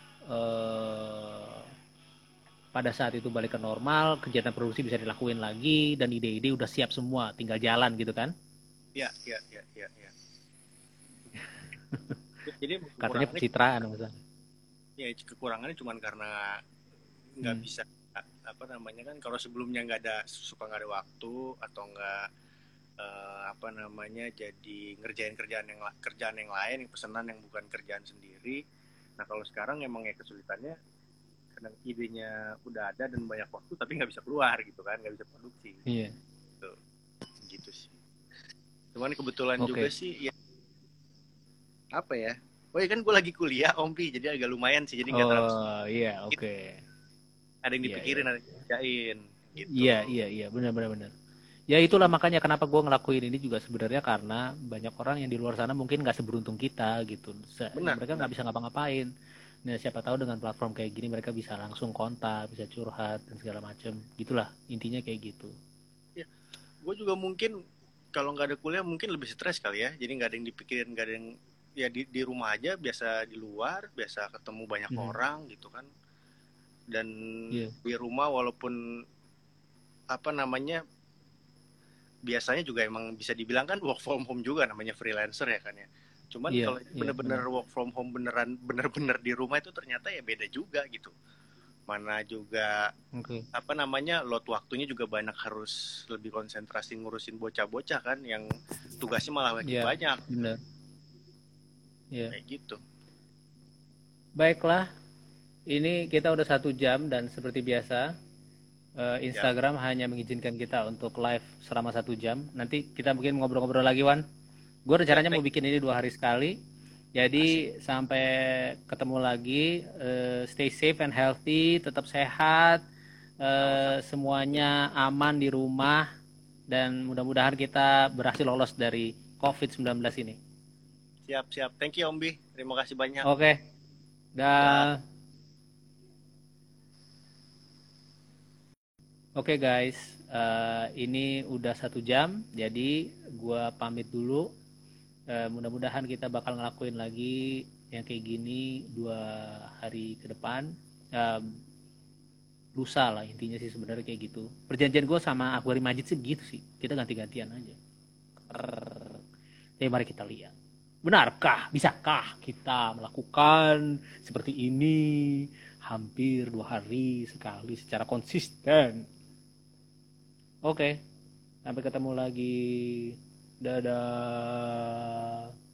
pada saat itu balik ke normal, kegiatan produksi bisa dilakuin lagi dan ide-ide udah siap semua, tinggal jalan gitu kan? Ya. Jadi katanya pencitraan misalnya. Ya kekurangannya cuma karena nggak bisa apa namanya kan, kalau sebelumnya nggak ada ada waktu atau nggak apa namanya jadi ngerjain kerjaan yang lain, yang pesanan yang bukan kerjaan sendiri. Nah kalau sekarang emang ya kesulitannya kadang idenya udah ada dan banyak waktu tapi nggak bisa keluar gitu kan, nggak bisa produksi. Iya. Gitu sih. Cuman kebetulan juga sih ya apa ya, oh ya kan gue lagi kuliah Ompi, jadi agak lumayan sih, jadi nggak terlalu. Oh iya oke. Ada yang dipikirin, ada yang dikerjain gitu. Iya benar. Ya itulah makanya kenapa gue ngelakuin ini juga sebenarnya karena banyak orang yang di luar sana mungkin nggak seberuntung kita gitu. Mereka nggak bisa ngapa-ngapain. Nah siapa tahu dengan platform kayak gini mereka bisa langsung kontak, bisa curhat dan segala macam. Gitulah intinya kayak gitu. Ya, gue juga mungkin kalau nggak ada kuliah mungkin lebih stres kali ya. Jadi nggak ada yang dipikirin, nggak ada yang ya di rumah aja, biasa di luar, biasa ketemu banyak orang gitu kan. Dan di rumah walaupun apa namanya biasanya juga emang bisa dibilang kan work from home juga, namanya freelancer ya kan ya. Cuman kalau bener-bener work from home bener-bener di rumah itu ternyata ya beda juga gitu. Mana juga apa namanya load waktunya juga banyak, harus lebih konsentrasi ngurusin bocah-bocah kan yang tugasnya malah makin banyak. Bener. Kayak gitu. Baiklah, ini kita udah 1 jam dan seperti biasa Instagram hanya mengizinkan kita untuk live selama 1 jam. Nanti kita mungkin ngobrol-ngobrol lagi, Wan. Gue rencananya mau bikin ini 2 hari sekali. Jadi sampai ketemu lagi. Stay safe and healthy, tetap sehat. Semuanya aman di rumah. Dan mudah-mudahan kita berhasil lolos dari COVID-19 ini. Siap. Thank you Ombi. Terima kasih banyak. Oke. Dah. Oke guys, ini udah 1 jam, jadi gue pamit dulu. Mudah-mudahan kita bakal ngelakuin lagi yang kayak gini 2 hari ke depan. Lusa lah intinya sih sebenarnya kayak gitu. Perjanjian gue sama Akbari Majid sih begitu sih, kita ganti-gantian aja. Jadi mari kita lihat, benarkah, bisakah kita melakukan seperti ini hampir 2 hari sekali secara konsisten. Oke, sampai ketemu lagi. Dadah.